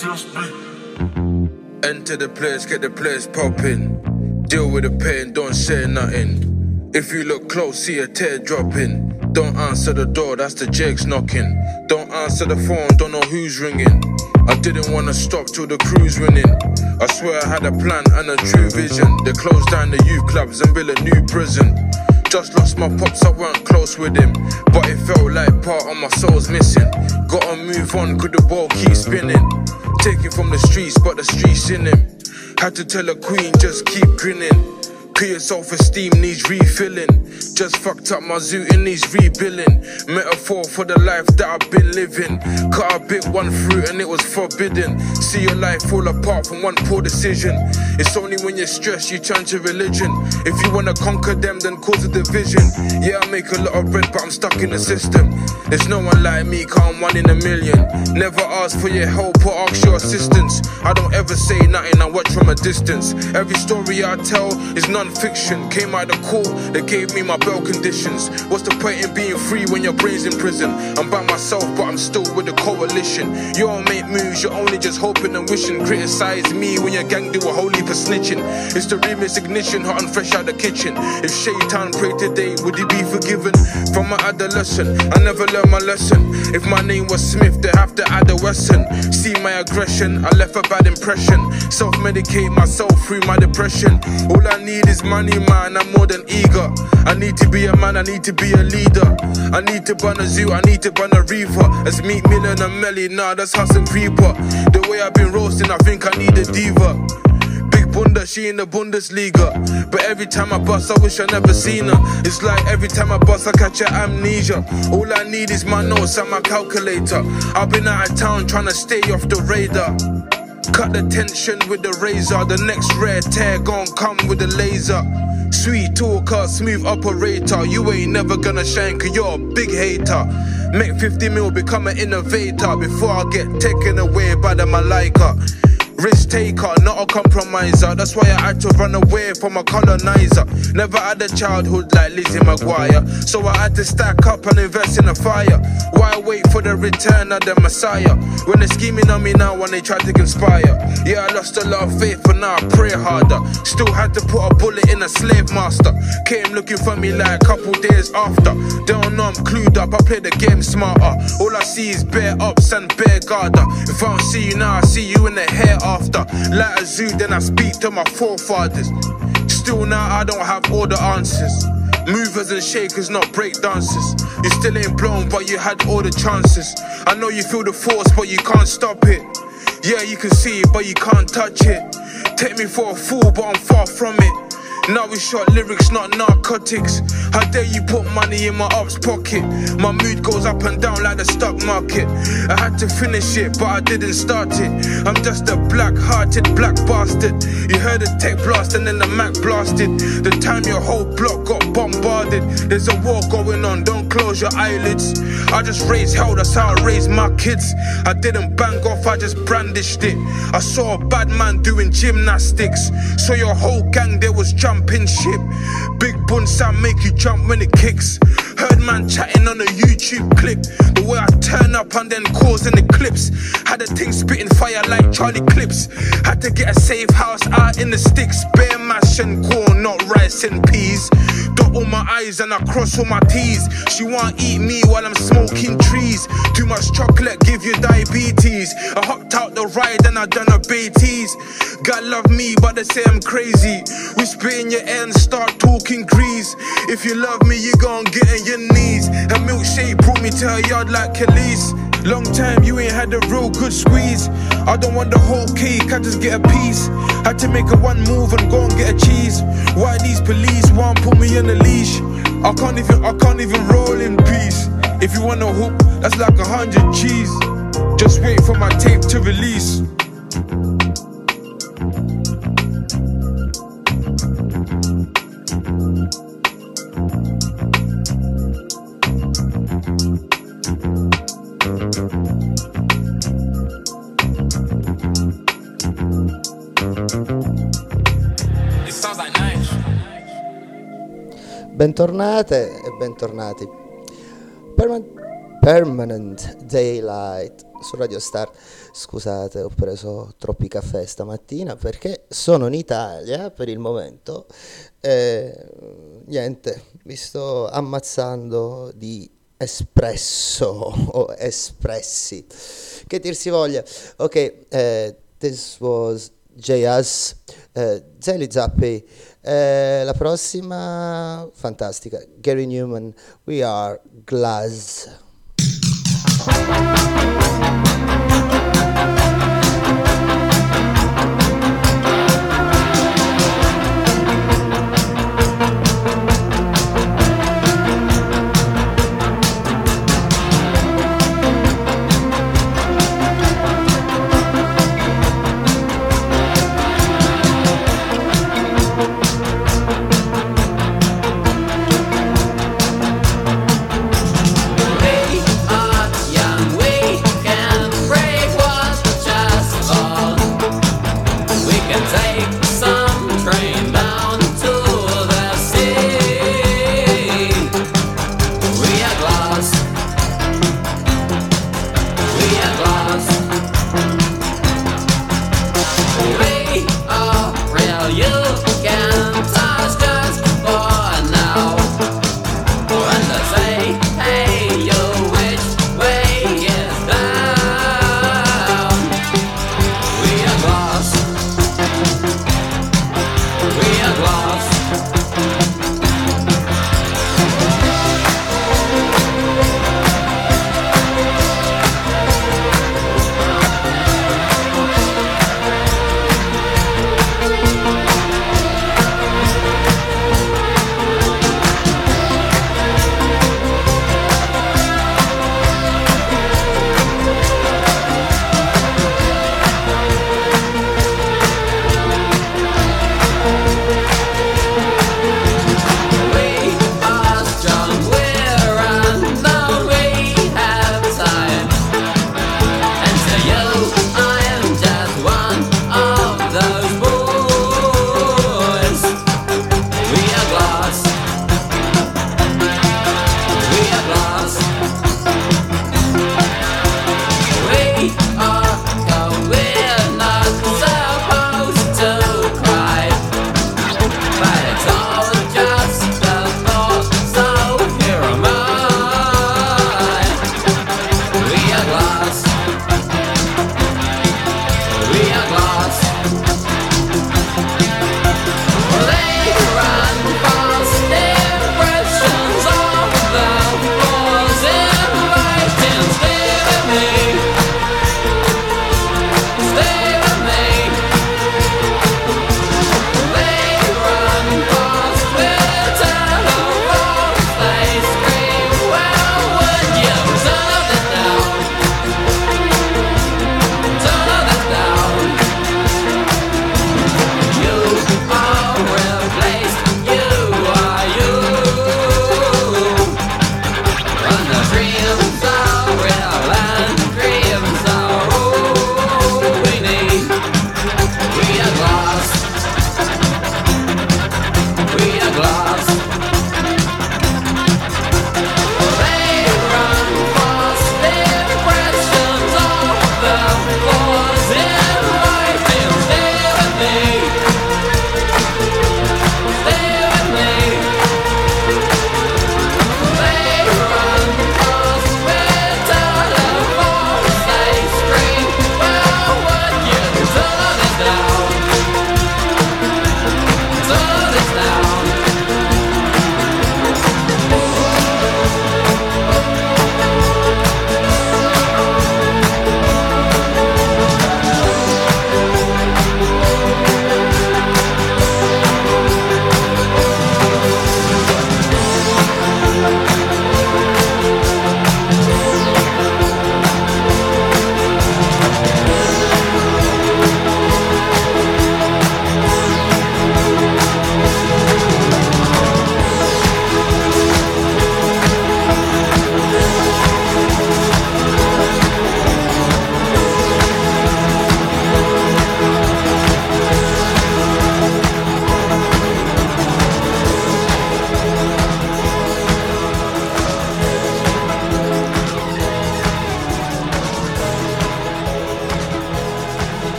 Enter the place, get the place popping. Deal with the pain, don't say nothing. If you look close, see a tear dropping. Don't answer the door, that's the Jakes knocking. Don't answer the phone, don't know who's ringing. I didn't wanna stop till the crew's winning. I swear I had a plan and a true vision. They closed down the youth clubs and built a new prison. Just lost my pops, I weren't close with him, but it felt like part of my soul's missing. Gotta move on, could the ball keep spinning? Taken from the streets, but the streets in him. Had to tell a queen, just keep grinning. Clear self-esteem needs refilling. Just fucked up my zoo, it needs rebuilding. Metaphor for the life that I've been living. Cut a bit one fruit and it was forbidden. See your life fall apart from one poor decision. It's only when you're stressed you turn to religion. If you wanna conquer them, then cause a division. Yeah, I make a lot of bread, but I'm stuck in the system. There's no one like me, cause I'm 1 in a million. Never ask for your help or ask your assistance. I don't ever say nothing, I watch from a distance. Every story I tell is non-fiction. Came out of court, they gave me my bail conditions. What's the point in being free when your brain's in prison? I'm by myself, but I'm still with the coalition. You don't make moves, you're only just hoping and wishing. Criticize me when your gang do a whole heap of snitching. It's the remix ignition, hot and fresh out the kitchen. If Shaitan prayed today, would he be forgiven? From my adolescent, I never learned my lesson. If my name was Smith, they have to add a Wesson. See my aggression, I left a bad impression. Self-medicate myself through my depression. All I need is money, man, I'm more than eager. I need to be a man, I need to be a leader. I need to burn a zoo, I need to burn a reefer. As Meek Mill and a Melly, nah, that's Hustle Creeper. The way I've been roasting, I think I need a diva. Big Bunda, she in the Bundesliga. But every time I bust, I wish I never seen her. It's like every time I bust, I catch a amnesia. All I need is my notes and my calculator. I've been out of town trying to stay off the radar. Cut the tension with the razor. The next rare tear gon' come with the laser. Sweet talker, smooth operator. You ain't never gonna shine cause you're a big hater. Make 50 mil, become an innovator before I get taken away by the Malaika. Risk taker, not a compromiser. That's why I had to run away from a colonizer. Never had a childhood like Lizzie McGuire, so I had to stack up and invest in a fire. Why wait for the return of the Messiah when they're scheming on me now when they try to conspire? Yeah, I lost a lot of faith, but now I pray harder. Still had to put a bullet in a slave master. Came looking for me like a couple days after. They don't know I'm clued up, I play the game smarter. All I see is bare ups and bare garter. If I don't see you now, I see you in the hair after. Like a zoo, then I speak to my forefathers. Still now I don't have all the answers. Movers and shakers, not break dancers. You still ain't blown, but you had all the chances. I know you feel the force, but you can't stop it. Yeah, you can see it, but you can't touch it. Take me for a fool, but I'm far from it. Now we shot lyrics, not narcotics. How dare you put money in my ops pocket? My mood goes up and down like the stock market. I had to finish it, but I didn't start it. I'm just a black-hearted black bastard. You heard the tech blast and then the Mac blasted. The time your whole block got bombarded. There's a war going on, don't close your eyelids. I just raised hell, that's how I raised my kids. I didn't bang off, I just brandished it. I saw a bad man doing gymnastics. So your whole gang, there was jumping ship. Big bun sound make you jump when it kicks. Heard man chatting on a YouTube clip. The way I turn up and then cause an eclipse. Had a thing spitting fire like Charlie Clips. Had to get a safe house out in the sticks. Bare mash and corn, not rice and peas. Dot all my I's and I cross all my T's. She wanna eat me while I'm smoking trees. Too much chocolate, give you diabetes. I hopped out the ride and I done a Beatties. God love me, but they say I'm crazy. Whisper in your ear and start talking grease. If you love me, you gon' get on your knees. A milkshake brought me to her yard like Khalees. Long time you ain't had a real good squeeze. I don't want the whole cake, I just get a piece. Had to make a one move and go and get a cheese. Why these police won't put me on a leash? I can't even roll in peace. If you want a hoop, that's like 100 G's. Just wait for my tape to release. Bentornate e bentornati. Permanent Daylight su Radio Star. Scusate, ho preso troppi caffè stamattina perché sono in Italia per il momento. Niente, mi sto ammazzando di espresso o espressi, che dir si voglia. Ok, this was J.S. Zelly Zappi. La prossima fantastica, Gary Newman, We Are Glass.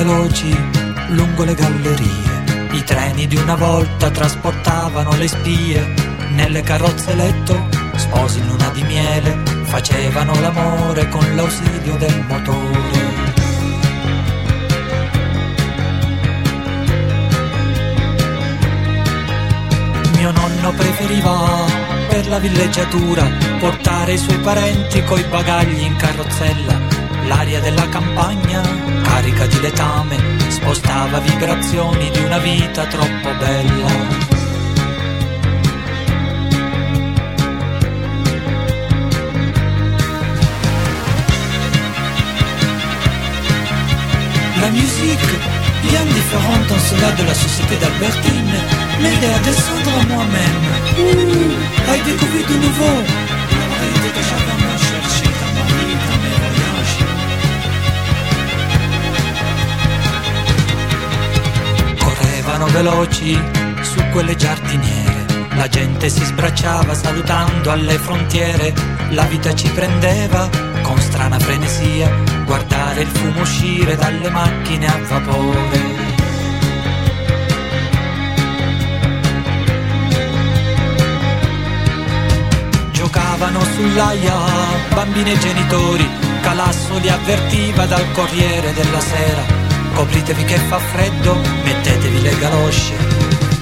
veloci lungo le gallerie. I treni di una volta trasportavano le spie. Nelle carrozze letto, sposi in luna di miele, facevano l'amore con l'ausilio del motore. Mio nonno preferiva per la villeggiatura portare i suoi parenti coi bagagli in carrozzella. L'aria della campagna, carica di letame, spostava vibrazioni di una vita troppo bella. La musique, bien différente en cela de la société d'Albertine, m'aidait à descendre à moi-même, à y découvrir de nouveau la réalité que j'avais à chercher dans ma vie, dans mes voyages. Correvano veloci su quelle giardiniere, la gente si sbracciava salutando alle frontiere, la vita ci prendeva con strana frenesia, guardare il fumo uscire dalle macchine a vapore. Giocavano sull'aia bambini e genitori, Calasso li avvertiva dal Corriere della Sera: copritevi che fa freddo, mettetevi le galosce.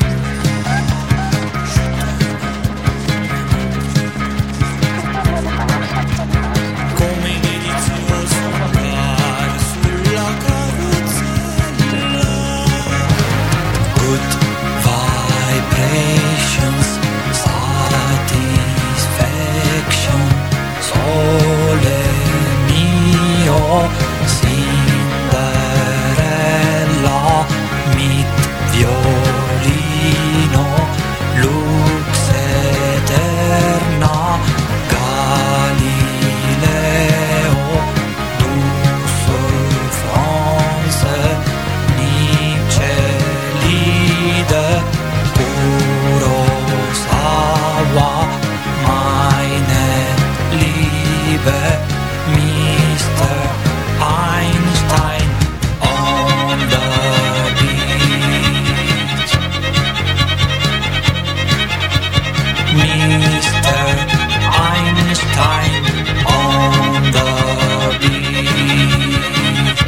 Cinderella, mit violino, lux eterna, Galileo, du France, Nietzsche, Liede, Kurosawa, meine Liebe, Mr. Einstein on the beach. Mr. Einstein on the beach.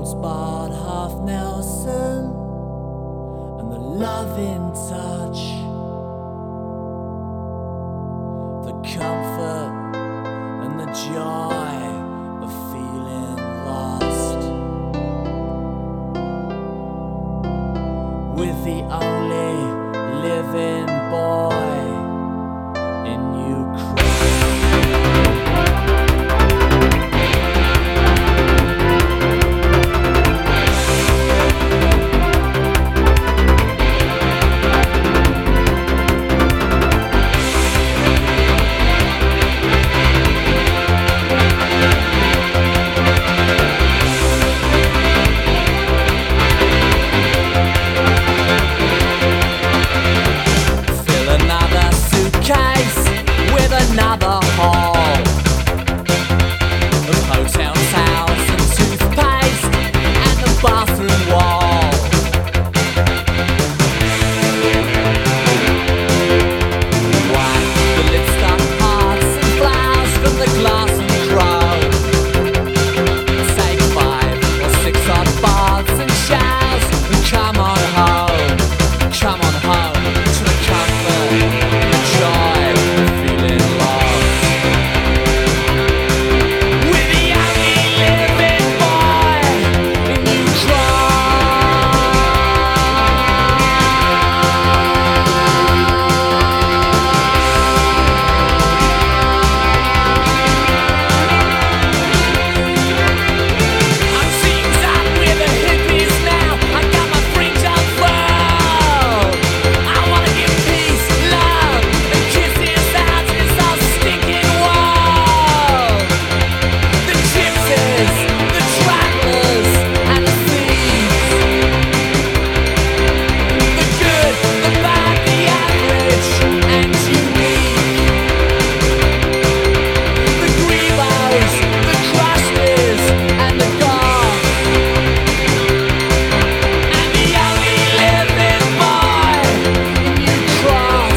Rosebud, half Nelson, and the loving touch, the comfort and the joy of feeling lost, with the only living boy in Ukraine. Another hall of hotel towels and toothpaste and the bathroom wall. Wipe the lipstick hearts and flowers from the glass and chrome. Take 5 or 6 hot baths and showers and come on home to the comfort, the joy of feeling lost. With the only living boy in I'm teamed up with the hippies now. I got my freedom phone. I wanna give peace, love, and kisses out this all stinking world. The gypsies, the travelers, and the thieves. The good, the bad, the average, and unique. The grievos, the crusties, and the goths. And the only living boy you cross.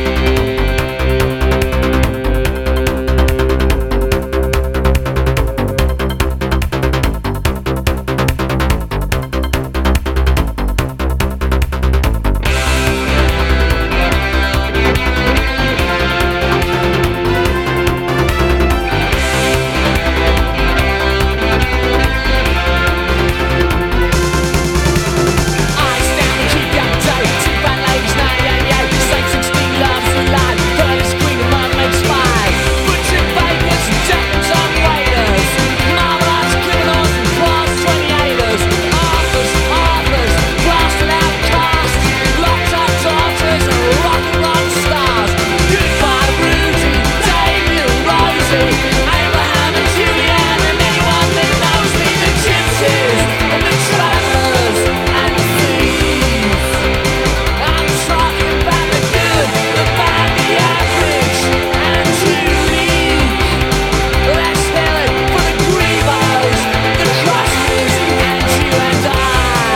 Eyes down and keep your date. Two bad ladies, 1988. Same 16 loves in life. Curtis Green and Mud makes 5. Butcher bakers and Japanese on waiters. Marvelous criminals and class 28ers. Authors, blasted out casts. Locked up daughters and rock and roll stars. Goodbye Rudy, David and Rosie. Abraham and Julian and anyone that knows me. The gypsies and the travelers and the thieves. I'm talking about the good, the bad, the average, and unique. Let's hear it for the grievos, the crusties, and you and I.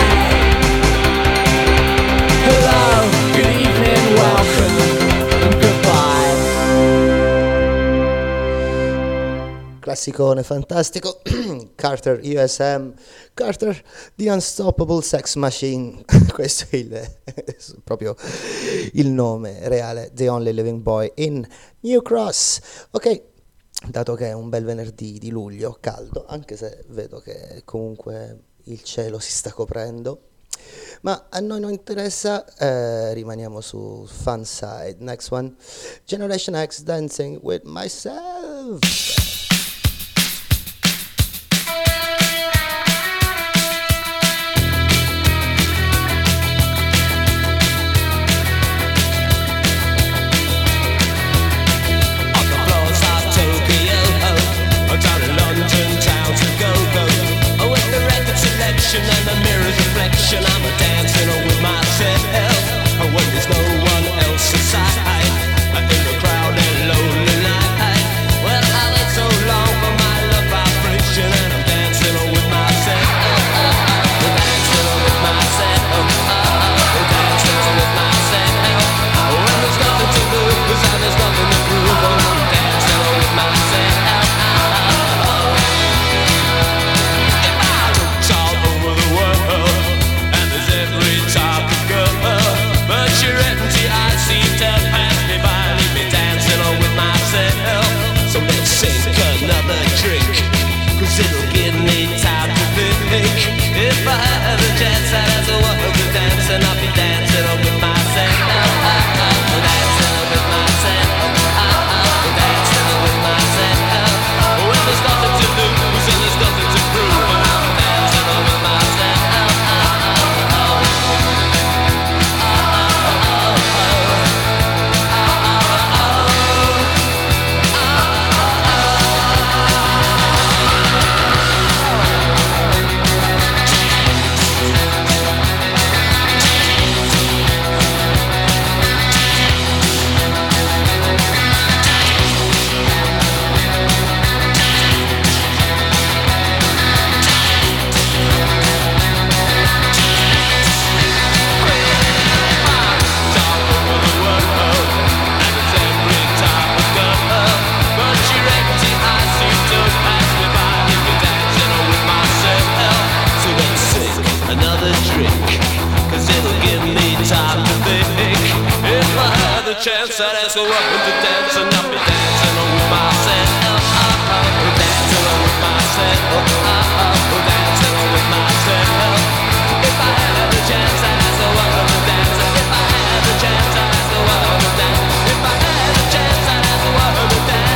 Hello, good evening, welcome, and goodbye. Classicone fantastico. Carter USM, Carter the Unstoppable Sex Machine. Questo è proprio il nome reale, The Only Living Boy in New Cross. Ok, dato che è un bel venerdì di luglio caldo, anche se vedo che comunque il cielo si sta coprendo, ma a noi non interessa, rimaniamo su fun side. Next one, Generation X, Dancing with Myself. On the floors of Tokyo, down in London town to go. With the record selection and the mirror's reflection, I'm dancing with myself. When there's no one else inside, in the crowded lonely night. Well, all it's chance, I'd ask a woman to dance, and I'll be dancing with myself. Dancing with myself. Dancing with myself. If I had the chance, I'd ask a woman to dance. If I had the chance, I'd ask a woman to dance. If I had the chance, I'd ask a woman to dance.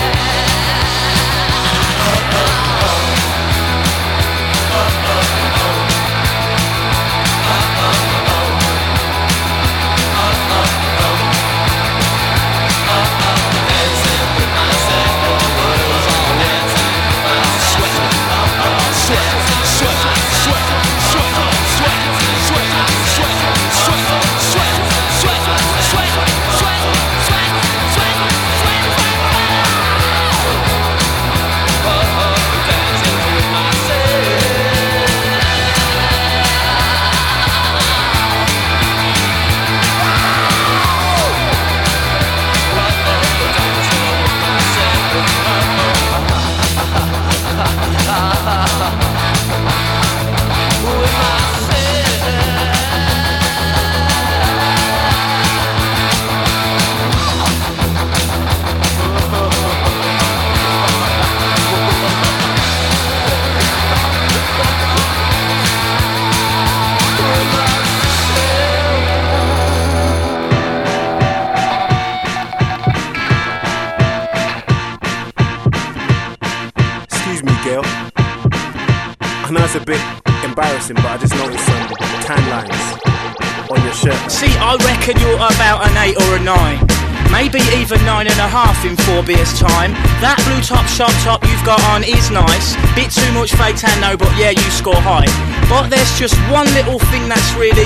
It's a bit embarrassing, but I just noticed some tan lines on your shirt. See, I reckon you're about an 8 or a 9. Maybe even 9.5 in 4 beers time. That blue top shop top you've got on is nice. Bit too much fake tan though, but yeah, you score high. But there's just one little thing that's really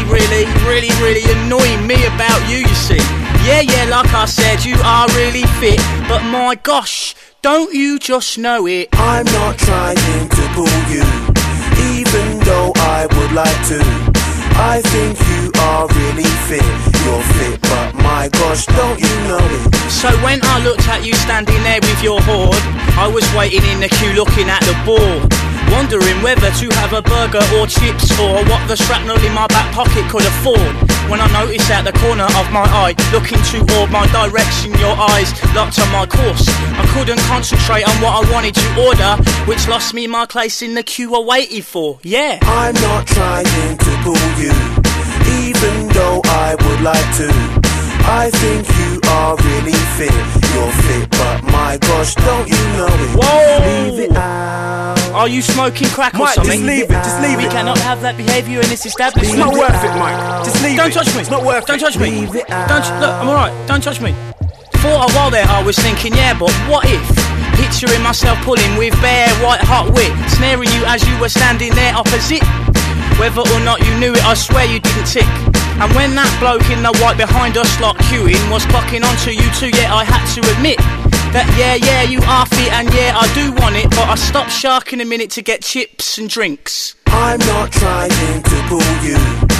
annoying me about you, you see. Yeah, like I said, you are really fit, but my gosh, don't you just know it? I'm not trying to pull you, even though I would like to. I think you are really fit. You're fit, but my gosh, don't you know it? So when I looked at you standing there with your hoard, I was waiting in the queue looking at the board, wondering whether to have a burger or chips, or what the shrapnel in my back pocket could afford. When I noticed at the corner of my eye, looking toward my direction, your eyes locked on my course. I couldn't concentrate on what I wanted to order, which lost me my place in the queue I waited for. Yeah, I'm not trying to pull you, even though I would like to. I think you are really fit. You're fit, but my gosh, don't you know it? Whoa! Leave it out. Are you smoking crack or Mike, something? just leave it, just leave We it. cannot have that behaviour in this establishment. It's not worth it, Mike. Just leave Don't it. touch me. It's not worth Don't it. touch me. Leave it out. Don't look, I'm alright. Don't touch me. For a while there I was thinking, yeah, but what if? Picturing myself pulling with bare white hot wit, snaring you as you were standing there opposite. Whether or not you knew it, I swear you didn't tick. And when that bloke in the white behind us lot queuing was clocking onto you too, yeah, I had to admit that yeah, you are fit, and yeah, I do want it, but I stopped sharking a minute to get chips and drinks. I'm not trying to pull you,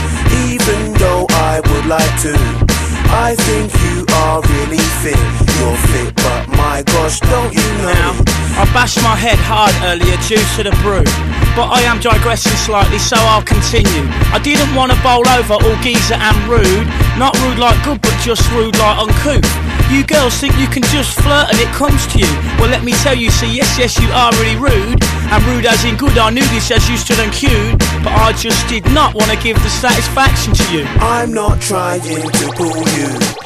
even though I would like to. I think you are really fit. You're fit, but my gosh, don't you know Now, it? I bashed my head hard earlier due to the brew, but I am digressing slightly, so I'll continue. I didn't want to bowl over all geezer and rude. Not rude like good, but just rude like uncouth. You girls think you can just flirt and it comes to you. Well, let me tell you, see, yes, you are really rude. And rude as in good, I knew this as you stood and queued, but I just did not want to give the satisfaction to you. I'm not trying to pull you,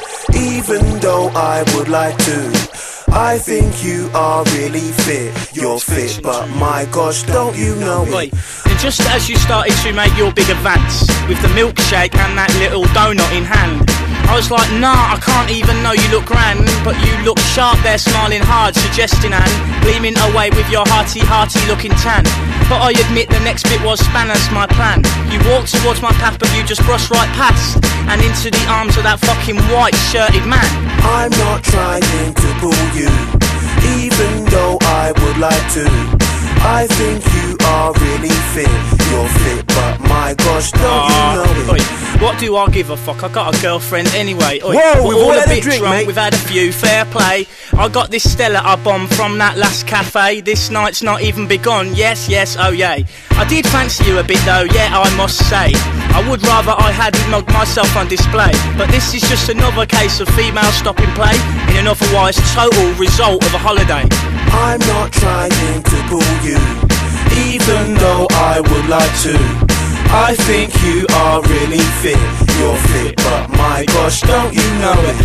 even though I would like to. I think you are really fit. You're fit, but my gosh, don't you know Oi, it? and just as you started to make your big advance with the milkshake and that little donut in hand, I was like, nah, I can't even know you look grand, but you look sharp there, smiling hard, suggesting and gleaming away with your hearty looking tan. But I admit the next bit was spanners my plan. You walked towards my path, but you just brushed right past and into the arms of that fucking white shirted man. I'm not trying to pull you, even though I would like to. I think you are really fit. You're fit, but my gosh, don't you know it? What What do I give a fuck? I got a girlfriend anyway. Oi, Whoa, we're we've all a had a bit drink, drunk, mate. we've had a few, fair play. I got this Stella I bombed from that last cafe. This night's not even begun, yes, oh yay. I did fancy you a bit though, yeah, I must say. I would rather I hadn't mugged myself on display. But this is just another case of female stopping play in an otherwise total result of a holiday. I'm not trying to pull you, even though I would like to. I think you are really fit. You're fit, but my gosh, don't you know it?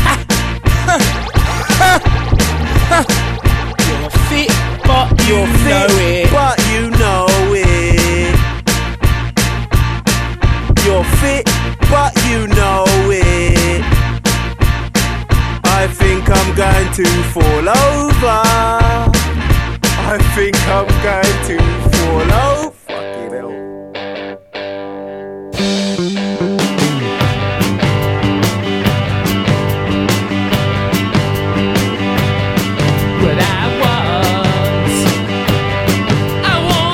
You're fit, but You're know fit, it. but you know it. You're fit, but you know it. I think I'm going to fall over. I think I'm going to fall over. Fucking hell. But I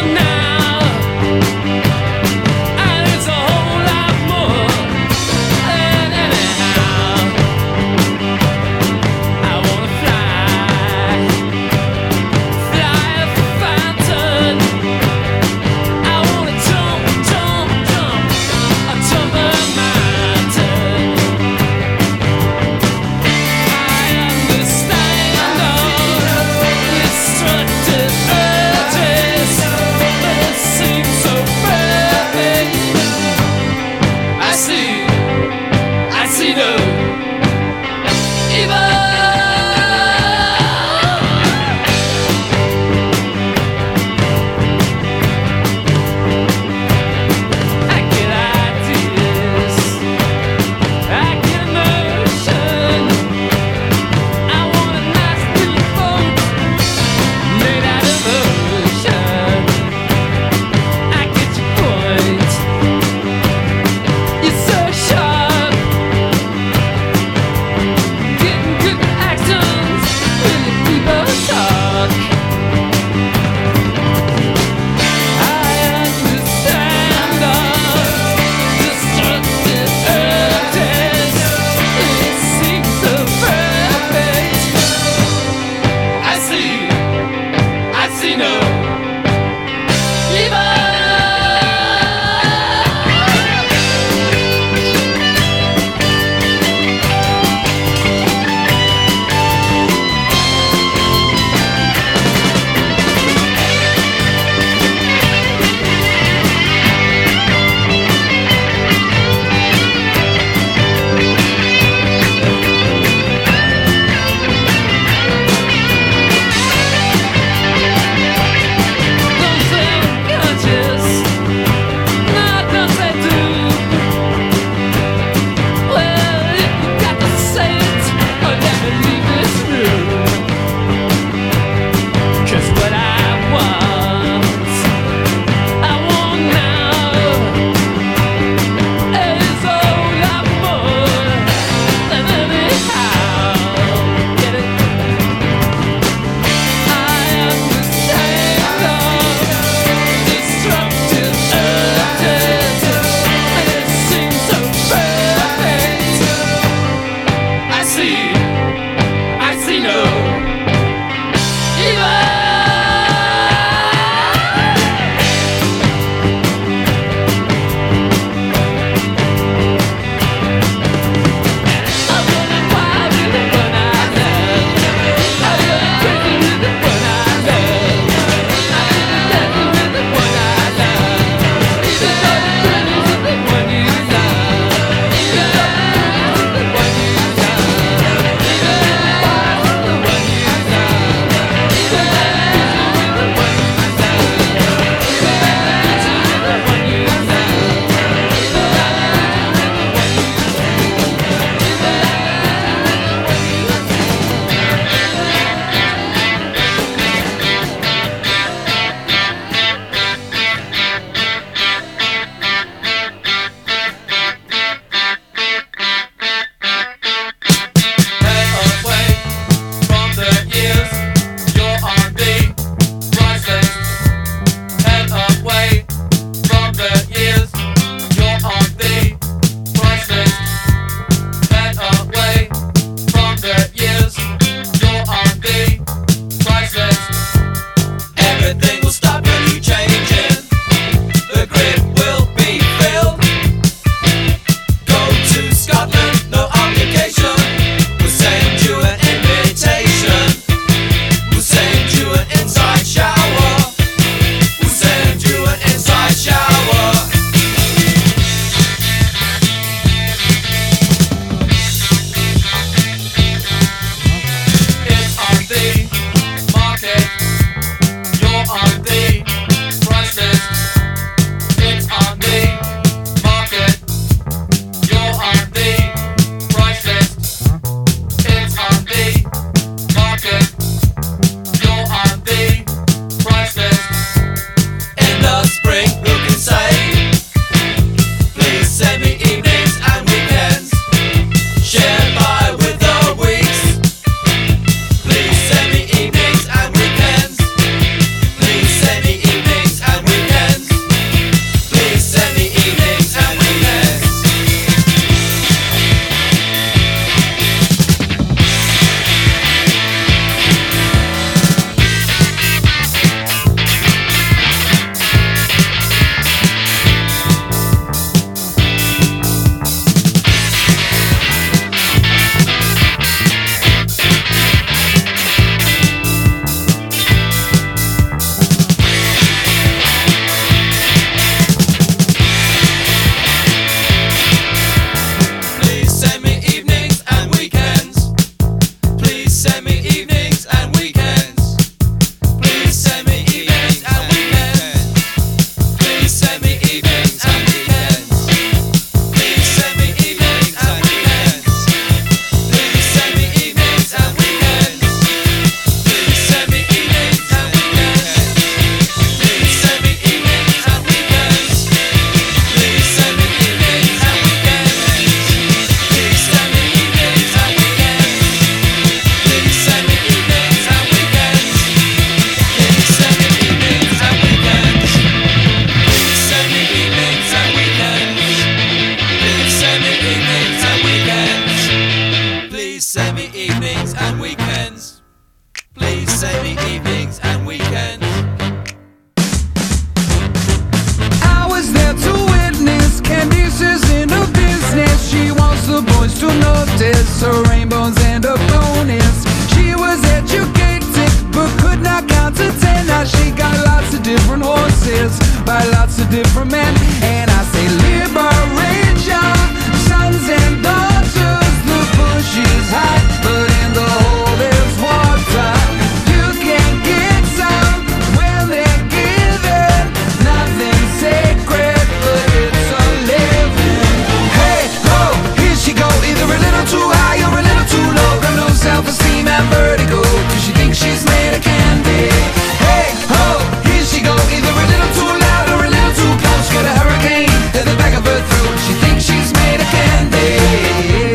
hostess, her rainbows and her bonus. She was educated but could not count to 10. Now she got lots of different horses by lots of different men. And I say liberate your sons and daughters. The bush is high, but in the hole there's water. You can get some when they're given. Nothing sacred, but it's a living. Hey ho, here she go, either a little too high or a little too low. Got no self-esteem and vertigo, cause she thinks she's made of candy. Hey ho, here she go, either a little too loud or a little too close. Got a hurricane at the back of her throat, she thinks she's made of candy.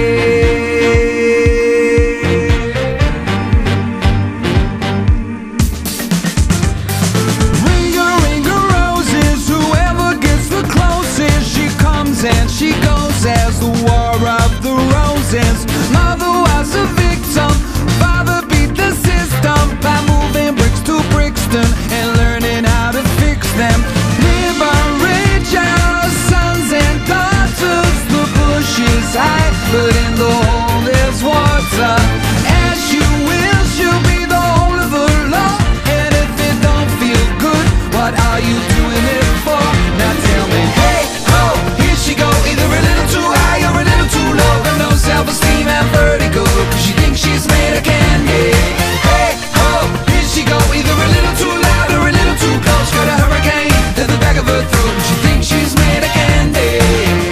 And she goes as the war of the roses. Mother was a victim, father beat the system by moving bricks to Brixton and learning how to fix them. Liberate your sons and daughters. The bush is high, but in the hole there's water. As you will, she'll be the whole of the law. And if it don't feel good, what are you doing it for? Now tell me, hey ho, she go either a little too high or a little too low. Got no self-esteem and vertigo, cause she thinks she's made of candy. Hey ho, here she go either a little too loud or a little too close. Got a hurricane at the back of her throat, she thinks she's made of candy.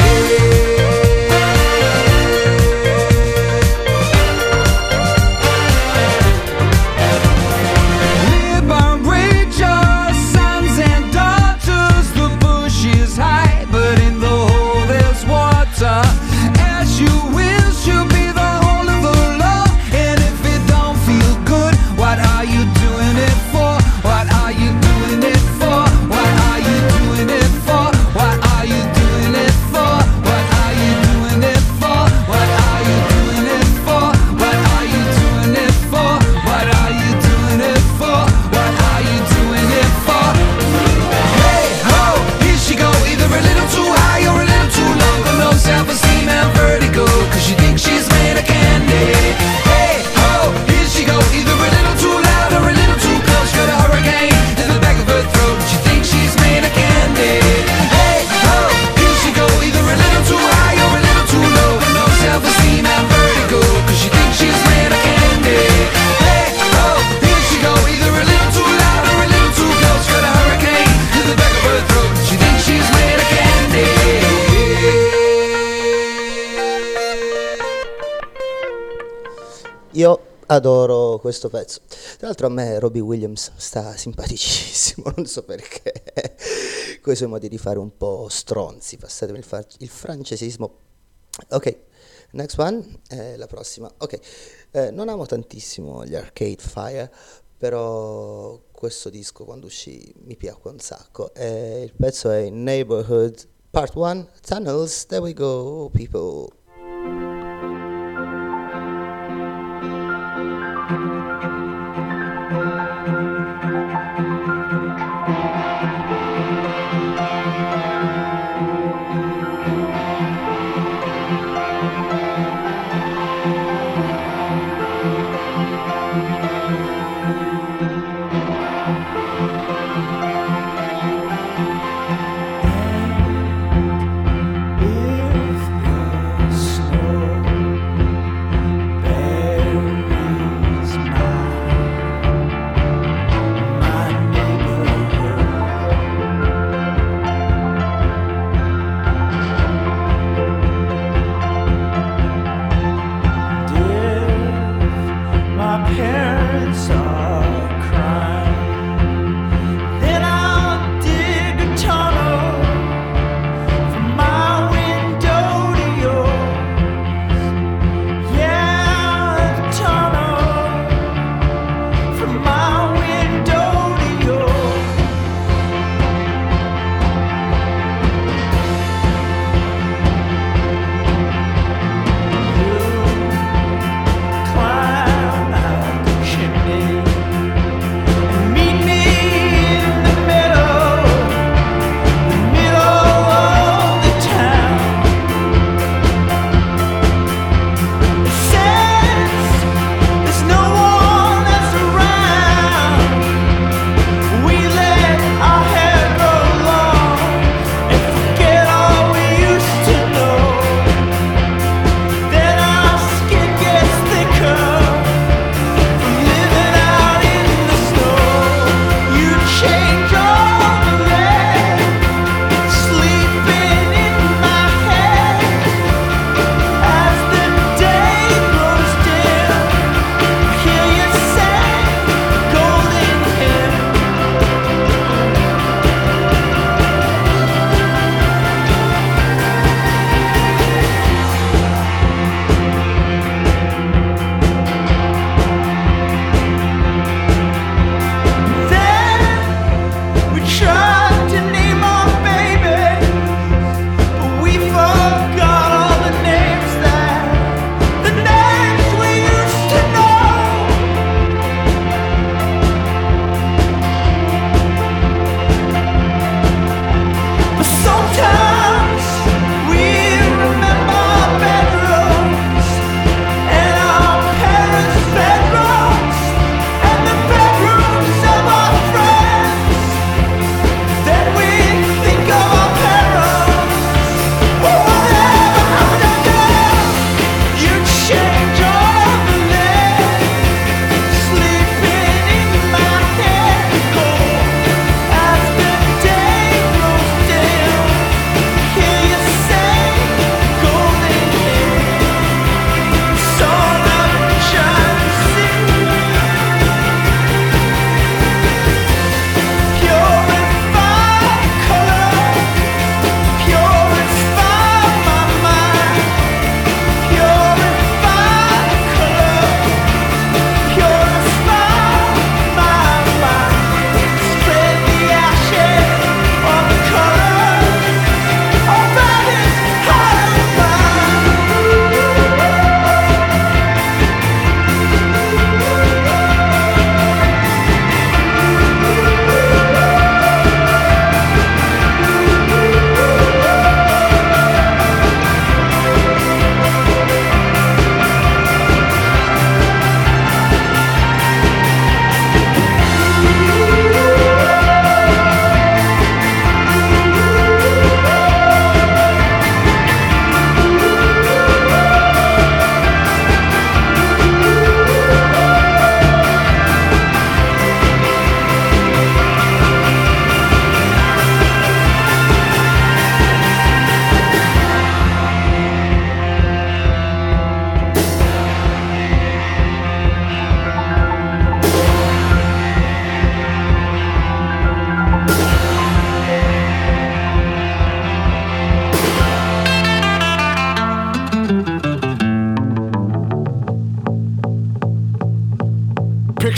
Liberate your sons and daughters. The bush is high, but in the water. As you will, she'll be the whole of the law. And if it don't feel good, what are you doing it for? What are you doing it for? What are you doing it for? What are you doing it for? What are you doing it for? What are you doing it for? What are you doing it for? What are you doing it for? What are you doing it for? Hey ho, here she go, either a little too high or a little too low. Got no self-esteem and vertigo, cause she thinks she's made of candy. Hey ho, here she go, either a little too loud or a little too close. Got a hurricane in the back of her throat, she thinks she's made of candy. Hey ho, here she go, either a little too high or a little too low. Got no self-esteem and vertigo, cause she thinks she's made of candy. Hey ho, here she go, either a little too loud or a little too close. Got a hurricane in the back of her throat, she thinks she's made of candy. Io adoro questo pezzo. Tra l'altro a me Robbie Williams sta simpaticissimo, non so perché. Con i suoi modi di fare un po' stronzi, passatemi il francesismo. Ok, next one, la prossima. Ok, non amo tantissimo gli Arcade Fire, però questo disco quando uscì mi piacque un sacco. Il pezzo è Neighborhood Part 1, Tunnels, there we go people. If you're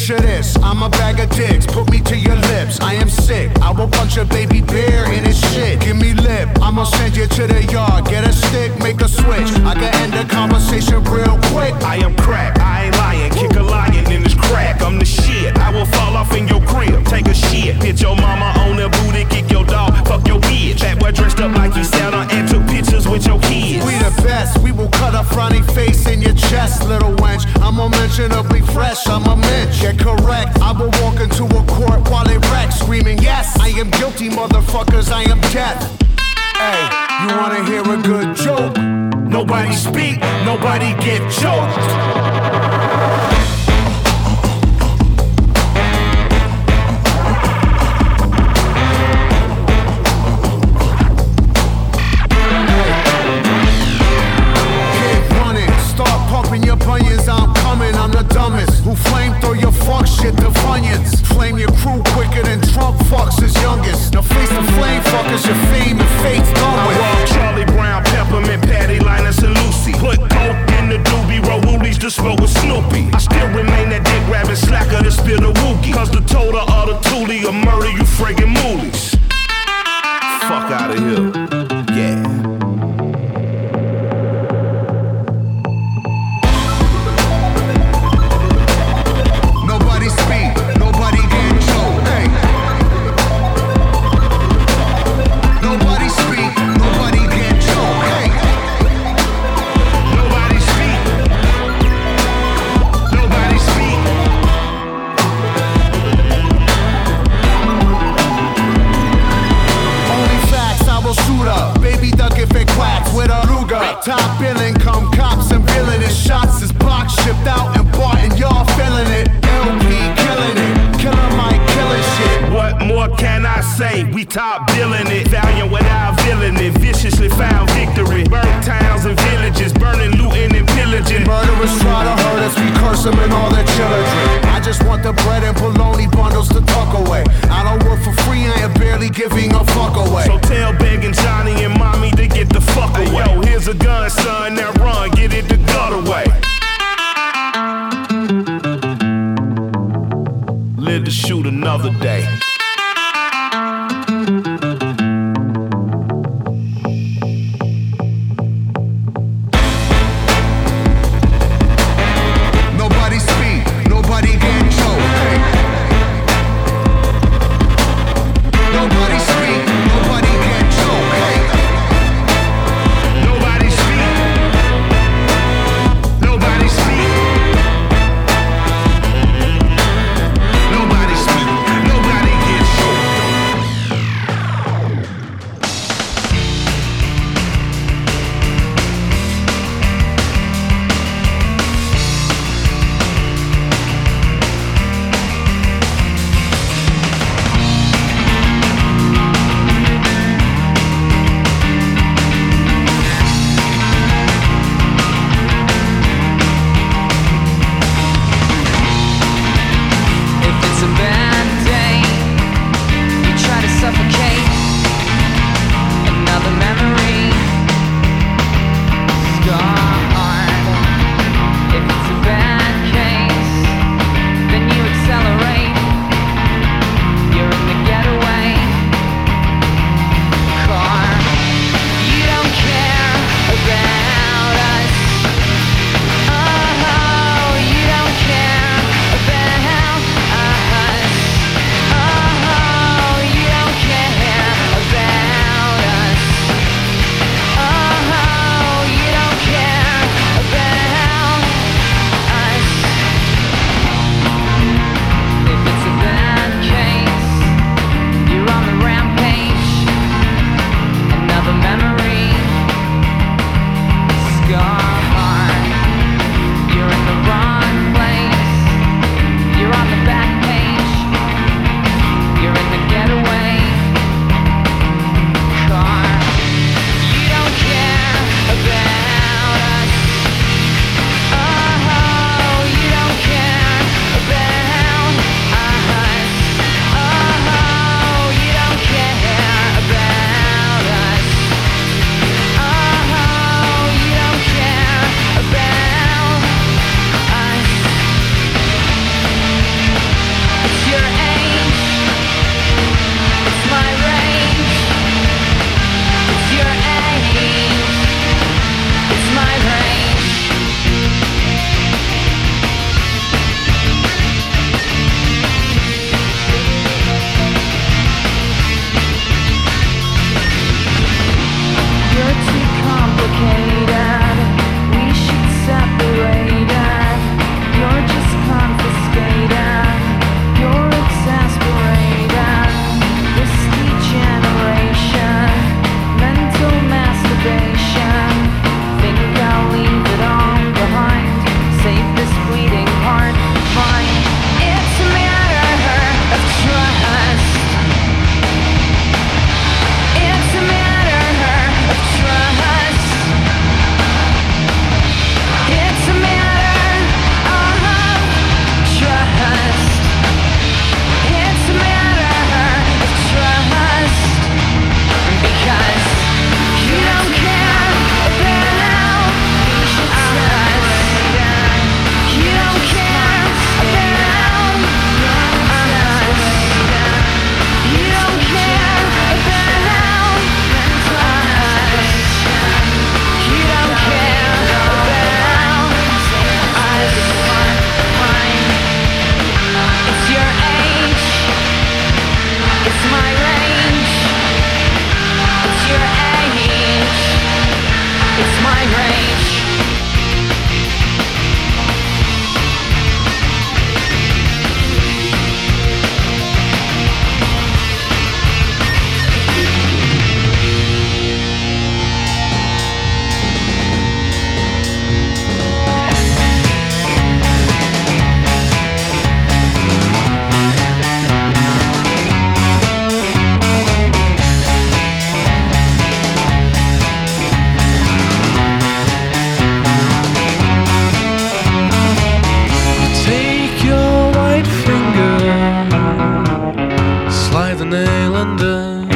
Picture this, I'm a bag of dicks, put me to your lips. I am sick, I will punch a baby bear in his shit. Give me lip, I'ma send you to the yard. Get a stick, make a switch. I can end the conversation real quick. I am crack, I ain't lying. Kick a lion in his crack. I'm the shit. I will fall off in your crib. Take a shit. Hit your mama on the booty. Kick your dog. Fuck your bitch. That boy dressed up like he sat on and took pictures with your kids. We the best. We will cut a frowny face in your chest, little wench. I'm unmentionably fresh. I'm a mensch. Get correct. I will walk into a court while it wrecks, screaming, yes, I am guilty, motherfuckers. I am death. Hey, you wanna hear a good joke? Nobody speak, nobody get choked. Your bunions, I'm coming, I'm the dumbest. Who flamethrow your fuck shit to Funyuns. Flame your crew quicker than Trump fucks his youngest. Now face the flame fuckers, your fame and fate's done with. I walk Charlie Brown, Peppermint, Patty, Linus, and Lucy. Put coke in the doobie, roll woolies to smoke with Snoopy. I still remain that dick grabbing slacker to spill the wookie. Cause the total of the toolie will murder you friggin' moolies. Fuck out of here. Yeah. Top billing, come cops and villainous shots is box shipped out and bought and y'all feeling it. LP killing it, Killer Mike killing shit. What more can I say? We top billing it, valiant without villain it. Viciously found victory, burnt towns and villages, burning, looting and pillaging. Murderers try to hurt us, we curse them and all their children. I just want the bread and bologna bundles to tuck away. I don't work for free, I am barely giving a fuck away. So tell begging Johnny and mommy to get the fuck away. Hey, yo, here's a gun, son, now run, get it the gut away. Live to shoot another day.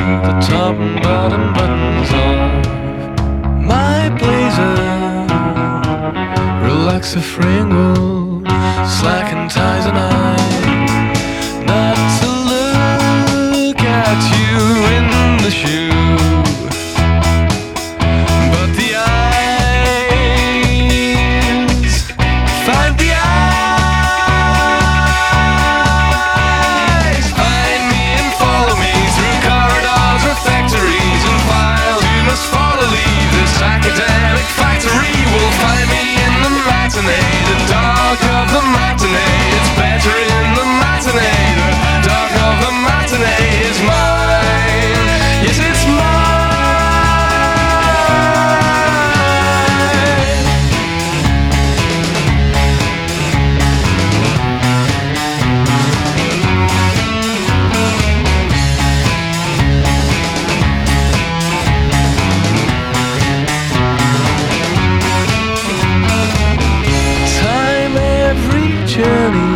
the top and bottom buttons off my blazer. Relax the frame will slacken ties and I not to look at you in the shoe, but the eyes find the eyes find me and follow me through corridors or factories and files. You must follow, leave this academic factory. Will find me in the matinee, the dark of the matinee. It's better in the matinee. The dark of the matinee is mine. Yes, it's mine. Time every journey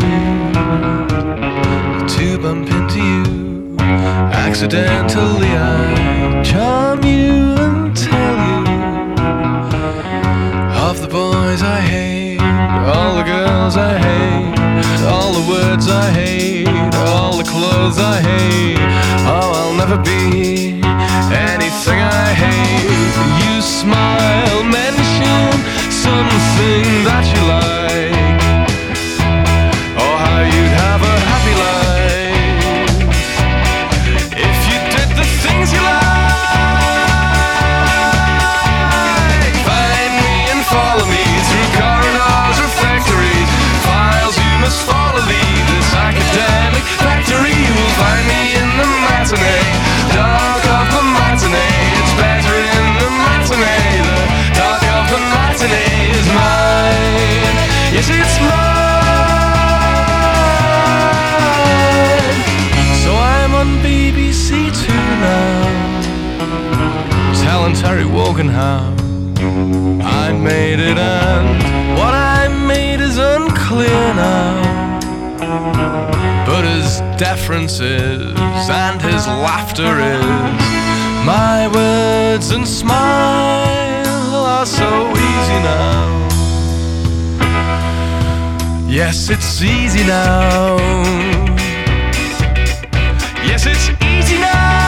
to bump into you. Accidentally I charm you and tell you of the boys I hate, all the girls I hate, all the words I hate, all the clothes I hate. Oh, I'll never be anything I hate. You smile, mention something that you like, or how you'd have a happy life if you did the things you like. Find me and follow me through corridors or factories, files you must follow, leave this academic factory. You will find me in the matinee, dark of the matinee. It's better in the matinee. The dark of the matinee is mine. Yes, it's mine. So I'm on BBC Two now, telling Terry Wogan how I made it, and what I made is unclear now. But his deference is, and his laughter is, my words and smile are so easy now. Yes, it's easy now. Yes, it's easy now.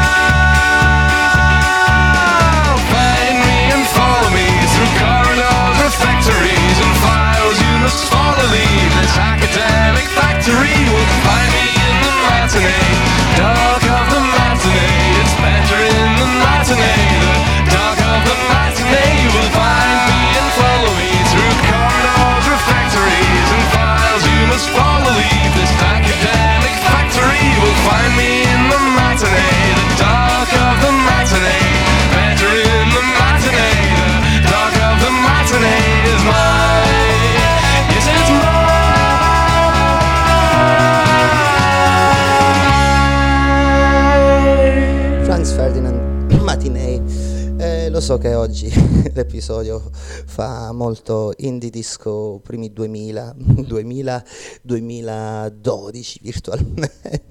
Find me and follow me through corridors or factories and files you must follow, leave this academic factory. Will find me in the matinee, dark of the matinee. It's better in the matinee. The dark of the matinee. You will find me and follow me through corridors or factories and files you must follow, leave this academic factory. You will find me in the matinee, the dark of the matinee. Better in the matinee. The dark of the matinee is mine. Yes, it's mine. Franz Ferdinand, Matinee. Lo so che oggi l'episodio fa molto indie disco primi 2012 virtualmente,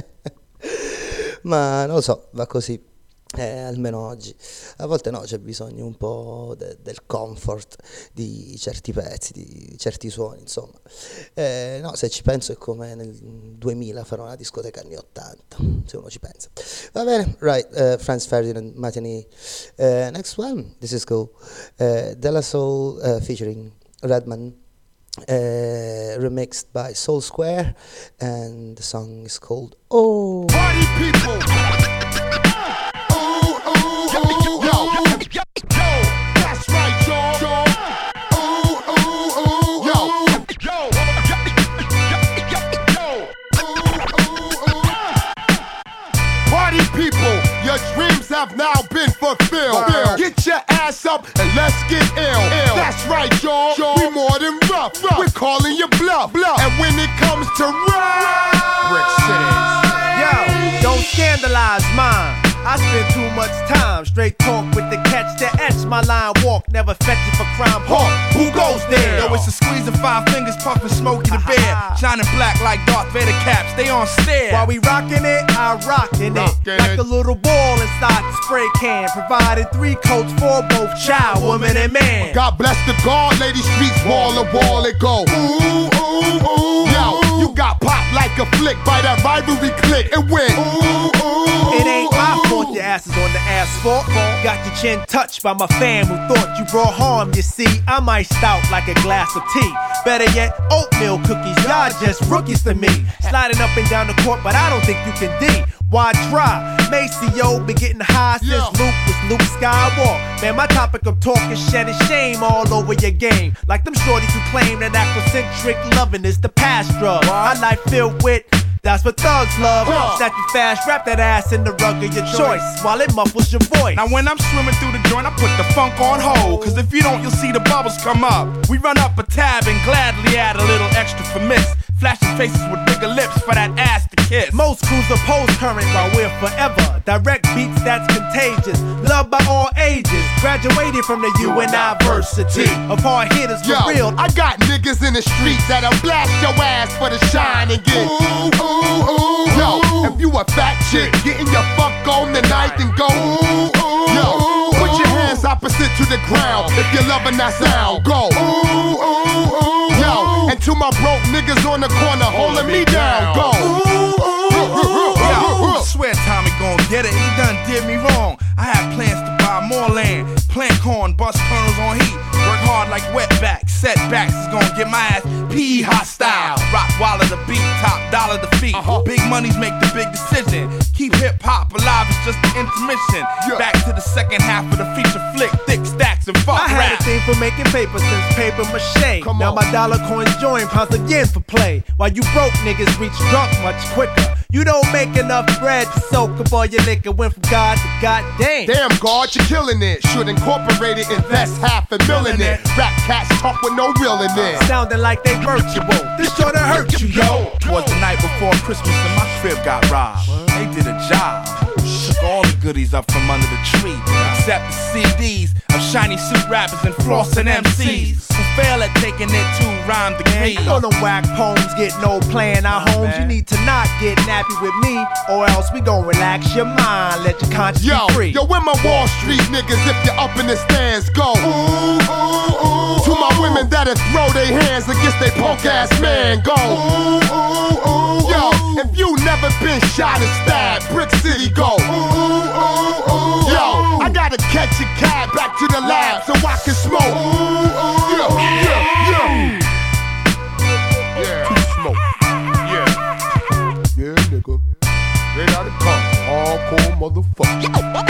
ma non lo so, va così. Almeno oggi. A volte no, c'è bisogno un po' del comfort di certi pezzi, di certi suoni, insomma. No, se ci penso è come nel 2000 farò una discoteca anni 80, se uno ci pensa. Va bene, right, Franz Ferdinand, Matinee. Next one, this is cool. Della Soul featuring Redman, remixed by Soul Square, and the song is called Oh. Party people. That's right, y'all. Party people, your dreams have now been fulfilled. Get your ass up and let's get ill. That's right, y'all. We more than rough. We're calling you bluff. And when it comes to rap, Brick City. Yo, don't scandalize mine. I spend too much time straight talk with the catch that etch my line walk. Never fetch it for crime. Hawk, who goes there? Yo, it's a squeeze of 5 fingers puffin' Smokey the Bear. Shining black like Darth Vader caps, they on stare. While we rockin' it, I rockin' it. Like a little ball inside the spray can. Provided 3 coats for both child, woman, and man. God bless the guard, lady streets, wall to wall it go. Ooh, ooh, ooh. Yo, you got popped like a flick by that rivalry click and win. Ooh, ooh. It ain't my fault your ass is on the asphalt. Got your chin touched by my fam who thought you brought harm. You see, I'm iced out like a glass of tea. Better yet, oatmeal cookies. Y'all just rookies to me. Sliding up and down the court, but I don't think you can D. Why try? Maceo been getting high since Luke was Luke Skywalker. Man, my topic of talk is shedding shame all over your game. Like them shorties who claim that Afrocentric loving is the past drug. My life filled with, that's what thugs love. Snap you fast, wrap that ass in the rug of your choice while it muffles your voice. Now when I'm swimming through the joint, I put the funk on hold. Cause if you don't, you'll see the bubbles come up. We run up a tab and gladly add a little extra for miss. Flashing faces with bigger lips for that ass to kiss. Most crews oppose current while we're forever. Direct beats that's contagious, loved by all ages. Graduated from the University of hard hitters for real. I got niggas in the streets that'll blast your ass for the shine and get ooh, ooh, ooh. Yo, if you a fat chick, getting your fuck on tonight, then go ooh, ooh. Yo, put your hands opposite to the ground if you're loving that sound. Go ooh, ooh, ooh. Yo, and to my broke niggas on the corner holding me down. Go ooh, ooh. Yo, I swear Tommy gon' get it. He done did me wrong. I had plans to buy more land, plant corn, bust kernels on heat. Work hard like wetbacks. Setbacks is gon' get my ass PE hostile. Rock Waller the beat, top dollar the feet. Big monies make the big decision. Keep hip hop alive, it's just an intermission. Back to the second half of the feature flick. Thick stacks and fuck I had rap. a thing for making paper since paper mache. Now my dollar coins join pounds again for play. While you broke niggas reach drunk much quicker. You don't make enough bread to soak up all your liquor. Went from God to goddamn. Damn, God, you're killing it. Should incorporate it, invest $500,000 in it. Rap cats talk with no real in it. Sounding like they virtual. This sure to hurt you, yo. Twas the night before Christmas and my crib got robbed. They did a job. Shook all the goodies up from under the tree, except the CDs of shiny suit rappers and flossing MCs who fail at taking their 2-rhyme degree. You know them whack poems get no play in our homes. You need to not get nappy with me, or else we gon' relax your mind, let your conscience be free. Yo, where my Wall Street niggas, if you're up in the stands, go ooh, ooh, ooh. To my women that'll throw their hands against they punk ass man, go ooh, ooh, ooh. Yo, if you never been shot and stabbed, Brick City, go ooh, ooh, ooh. Yo, I gotta catch a cab back to the lab so I can smoke. Ooh, ooh. Yo, yeah. To smoke. Yeah, nigga. Straight out of car. Hardcore motherfucker.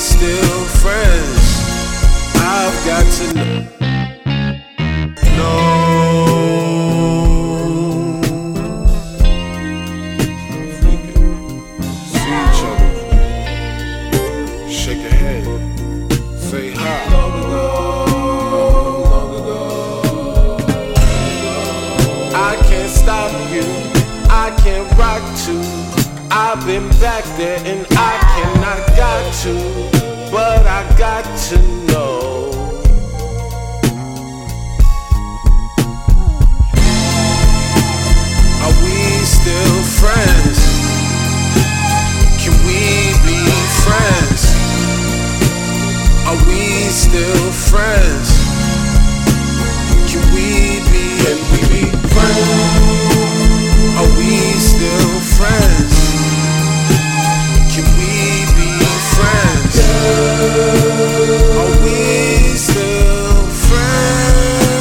still friends? I've got to know. I've been back there and I cannot got to, but I got to know. Are we still friends? Can we be friends? Are we still friends? Can we be friends? Are we still friends? Can we be friends? Are we still friends?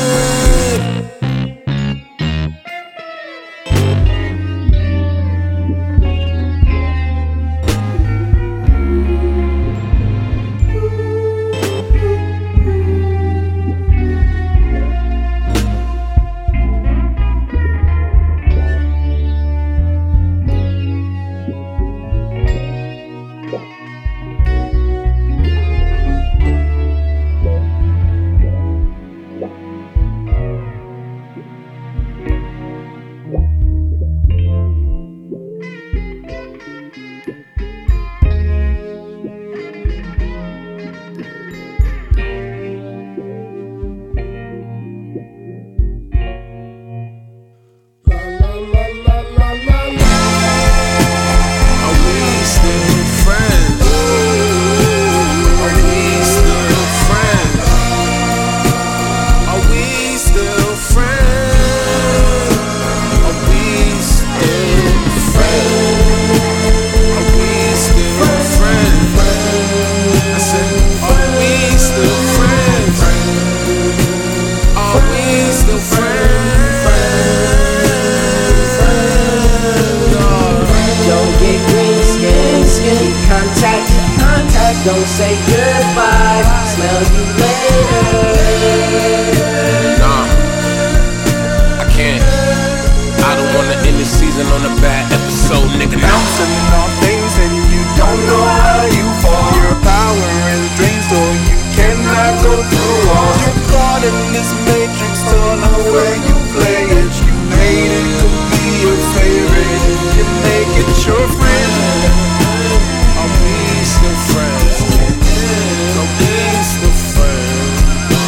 Don't say goodbye, smell you later. Nah, I can't. I don't wanna end the season on a bad episode, nigga. Bouncing off things and you don't know how you fall. Your power is drained, so you cannot go through walls. You're caught in this matrix, don't know where you play it. You made it to be your favorite. You make it your friend. Are we still friends? Are we still friends?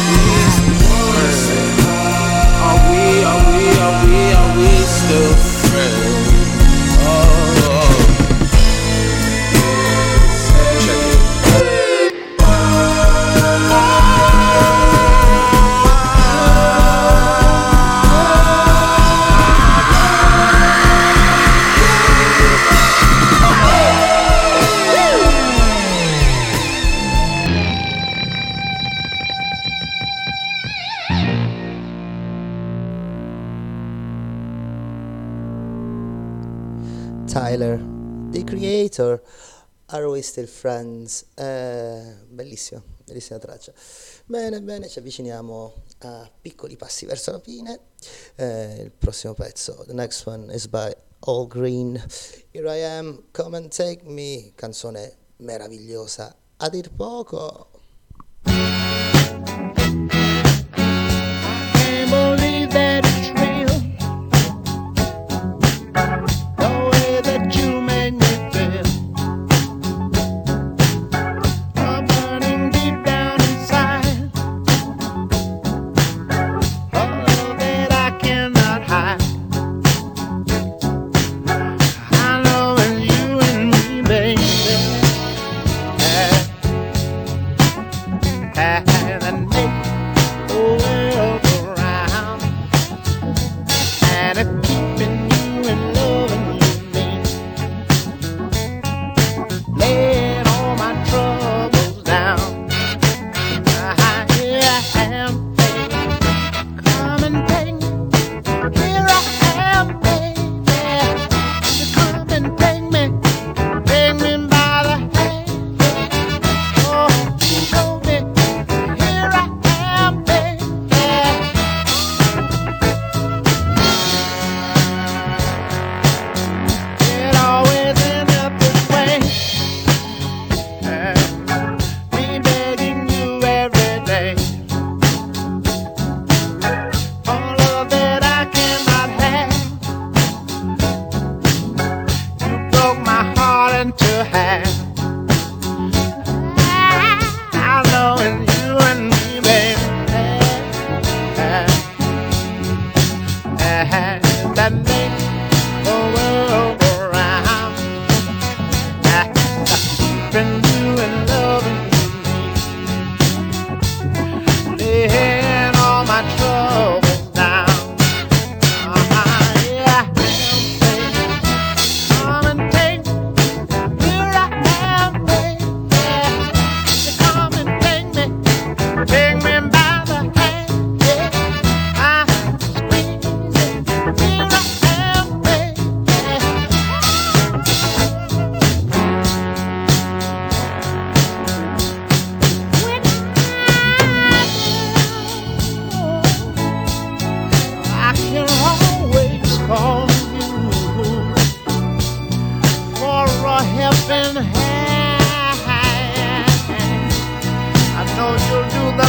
Are we still friends? Oh. Check it. Tyler, The Creator, Are We Still Friends? Bellissima, bellissima traccia. Bene, bene, ci avviciniamo a piccoli passi verso la fine. Il prossimo pezzo, the next one is by All Green. Here I Am, Come and Take Me, canzone meravigliosa a dir poco. Can't believe that it's real. The way that you made me feel. I'm burning deep down inside. Oh, that I cannot hide. I know it's you and me, baby.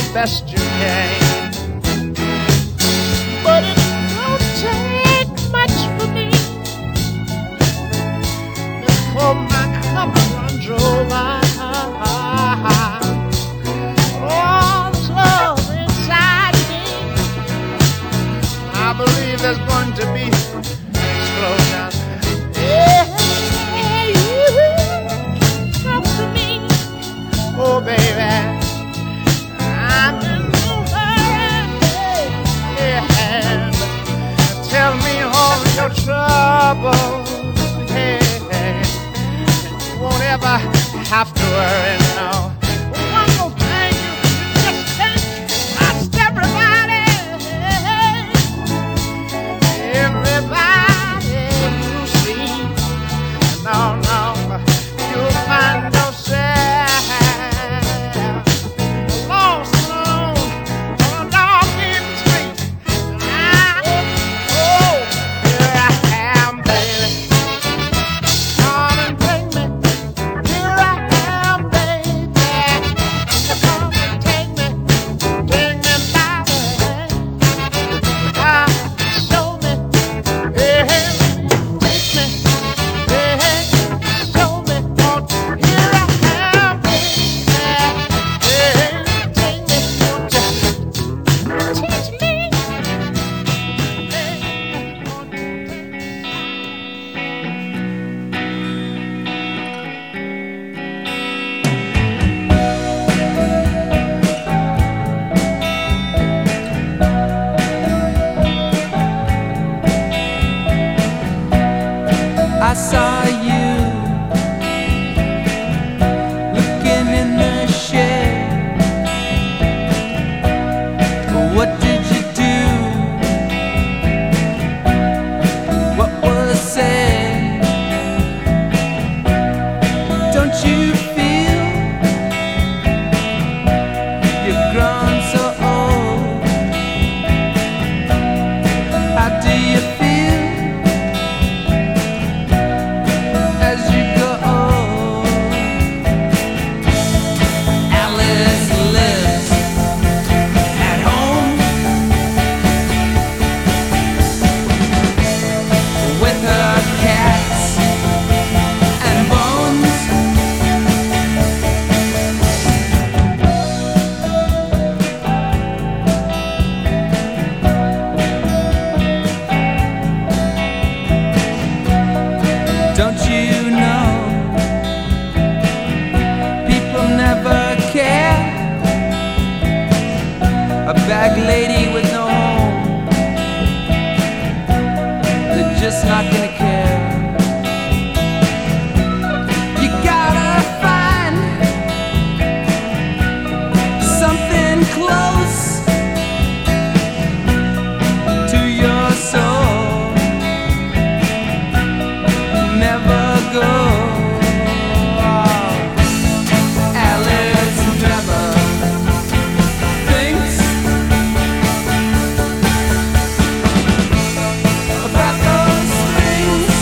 best you can. But it don't take much for me before my cup runs over. All this love inside me, I believe there's going to be an explosion. Yeah, you talk to me, oh baby. I'm in no hurry. Yeah, tell me all your troubles. Yeah, you won't ever have to worry now. One more thing, you just can't trust everybody. Everybody you see. No, no, you'll find yourself lost alone on a dark end street. Oh, here I am, baby. Come and take me. Here I am, baby. Come and take me by the hand. Show me, hey, take me, hey, show me. Oh, here I am, baby. Hey, take me, won't you teach me? I saw you looking in the shade. What did you do? What was said? Don't you feel you've grown so old? How do you feel as you go old? Alice lives at home with her cats and bones. Don't you know people never care? A bag lady with no home, they're just not gonna care. You gotta find something close to your soul. Never go. Alice never thinks about those things.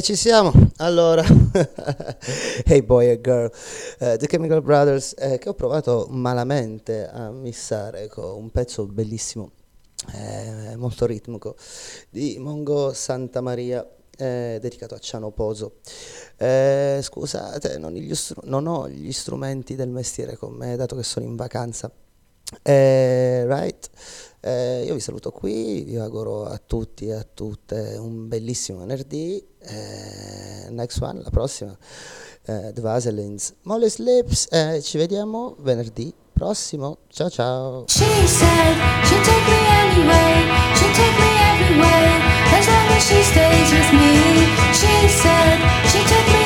ci siamo. Allora, Hey Boy and Girl, The Chemical Brothers, che ho provato malamente a missare con un pezzo bellissimo, molto ritmico, di Mongo Santamaria, dedicato a Ciano Poso. Scusate, non ho gli strumenti del mestiere con me, dato che sono in vacanza. Right? Io vi saluto qui, vi auguro a tutti e a tutte un bellissimo venerdì. Next one, la prossima, The Vaselines, Molly's Lips. Ci vediamo venerdì prossimo. Ciao ciao. She said she'd take me anyway, she'd take me everywhere, as long as she stays with me. She said she'd take me